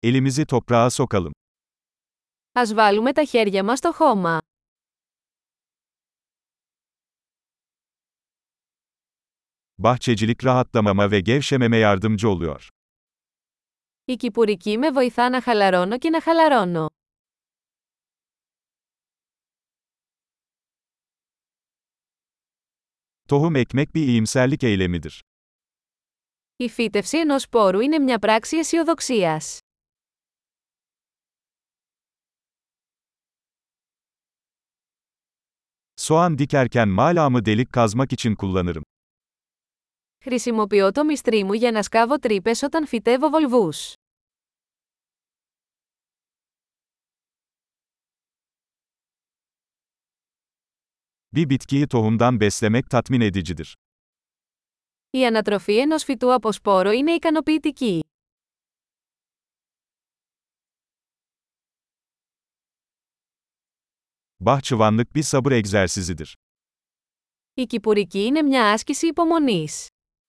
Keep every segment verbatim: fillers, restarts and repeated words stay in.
Elimizi toprağa sokalım. Ας βάλουμε τα χέρια μας στο χώμα. Bahçecilik rahatlamama ve gevşememe yardımcı oluyor. Η κυπουρική με βοηθά να χαλαρώνω και να χαλαρώνω. Tohum ekmek bir iyimserlik eylemidir. Η φύτευση ενός σπόρου είναι μια πράξη αισιοδοξίας. Soğan dikerken malamı delik kazmak için kullanırım. Χρησιμοποιώ το μυστρί μου για να σκάβω τρύπες όταν φυτεύω βολβούς. Bir bitkiyi tohumdan beslemek tatmin edicidir. Η ανατροφή ενός φυτού από σπόρο είναι ικανοποιητική. Bahçıvanlık bir sabır egzersizidir. Η κυπουρική είναι μια άσκηση υπομονής.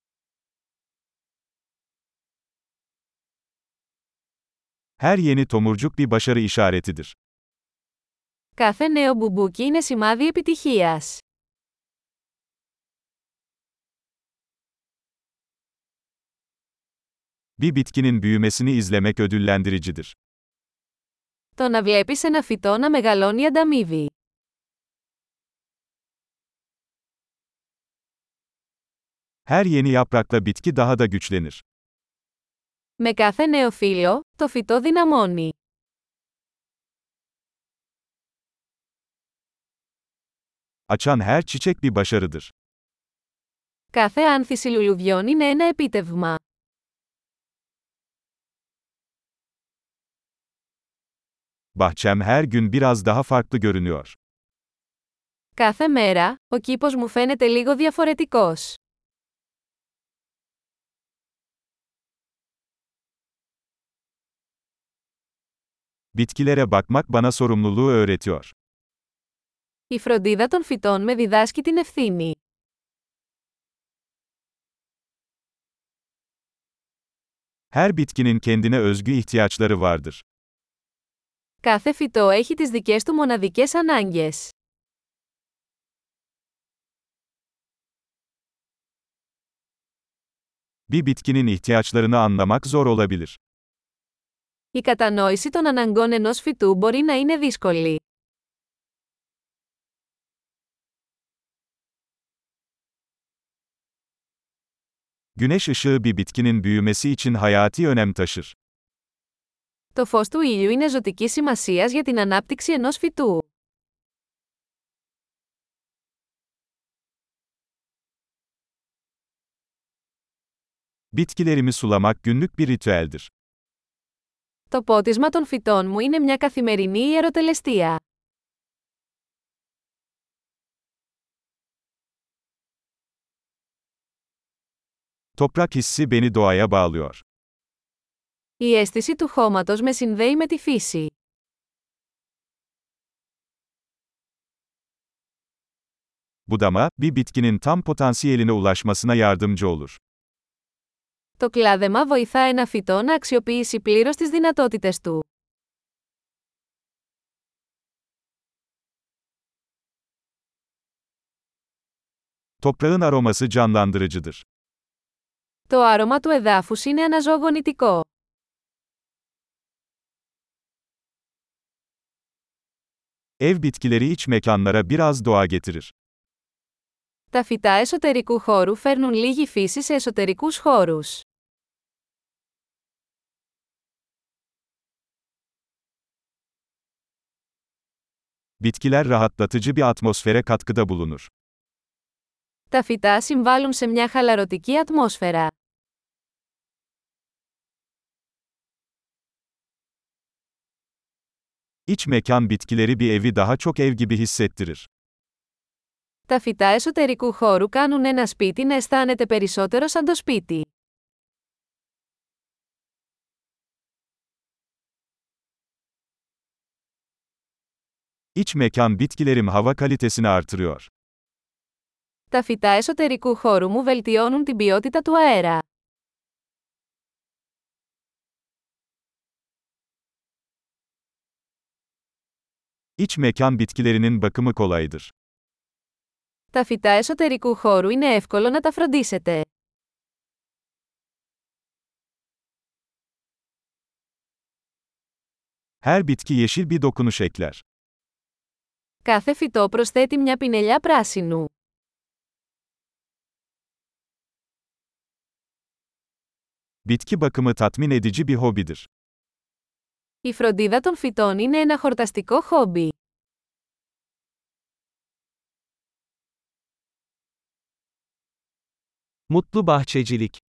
Her yeni tomurcuk bir başarı işaretidir. Κάθε νέο μπουμπούκι είναι σημάδι επιτυχίας. Bir bitkinin büyümesini izlemek ödüllendiricidir. Το να βλέπεις ένα φυτό να μεγαλώνει ανταμείβει. Her yeni yaprakla bitki daha da güçlenir. Με κάθε νέο φύλλο, το φυτό δυναμώνει. Açan her çiçek bir başarıdır. Κάθε άνθηση λουλουδιών είναι ένα επίτευγμα. Bahçem her gün biraz daha farklı görünüyor. Κάθε μέρα, ο κήπος μου φαίνεται λίγο διαφορετικός. Bitkilere bakmak bana sorumluluğu öğretiyor. Η φροντίδα των φυτών με διδάσκει την ευθύνη. Her bitkinin kendine özgü ihtiyaçları vardır. Κάθε φυτό έχει τις δικές του μοναδικές ανάγκες. Bir bitkinin ihtiyaçlarını anlamak zor olabilir. Η κατανόηση των αναγκών ενός φυτού μπορεί να είναι δύσκολη. Güneş ışığı bir bitkinin büyümesi için hayati önem taşır. Το φως του ήλιου είναι ζωτικής σημασίας για την ανάπτυξη ενός φυτού. Bitkilerimi sulamak günlük bir ritüeldir. Το πότισμα των φυτών μου είναι μια καθημερινή ιεροτελεστία. Toprak hissi beni doğaya bağlıyor. Η αίσθηση του χώματος με συνδέει με τη φύση. Budama, bir bitkinin tam potansiyeline ulaşmasına yardımcı olur. Το κλάδεμα βοηθά ένα φυτό να αξιοποιήσει πλήρως τις δυνατότητες του. Toprağın aroması canlandırıcıdır. Το άρωμα του εδάφους είναι αναζωογονητικό. Ev bitkileri iç mekanlara biraz doğa getirir. Τα φυτά εσωτερικού χώρου φέρνουν λίγη φύση σε εσωτερικούς χώρους. Bitkiler rahatlatıcı bir atmosfere katkıda bulunur. Τα φυτά συμβάλλουν σε μια χαλαρωτική ατμόσφαιρα. İç mekan bitkileri bir evi daha çok ev gibi hissettirir. Τα φυτά εσωτερικού χώρου κάνουν ένα σπίτι να αισθάνεται περισσότερο σαν το σπίτι. İç mekan bitkilerim hava kalitesini artırıyor. Τα φυτά εσωτερικού χώρου μου βελτιώνουν την ποιότητα του αέρα. İç mekan bitkilerinin bakımı kolaydır. Τα φυτά εσωτερικού χώρου είναι εύκολο να τα φροντίσετε. Her bitki yeşil bir dokunuş ekler. Κάθε φυτό προσθέτει μια πινελιά πράσινου. Bitki bakımı tatmin edici bir hobidir. Η φροντίδα των φυτών είναι ένα χορταστικό χόμπι. Mutlu bahçecilik.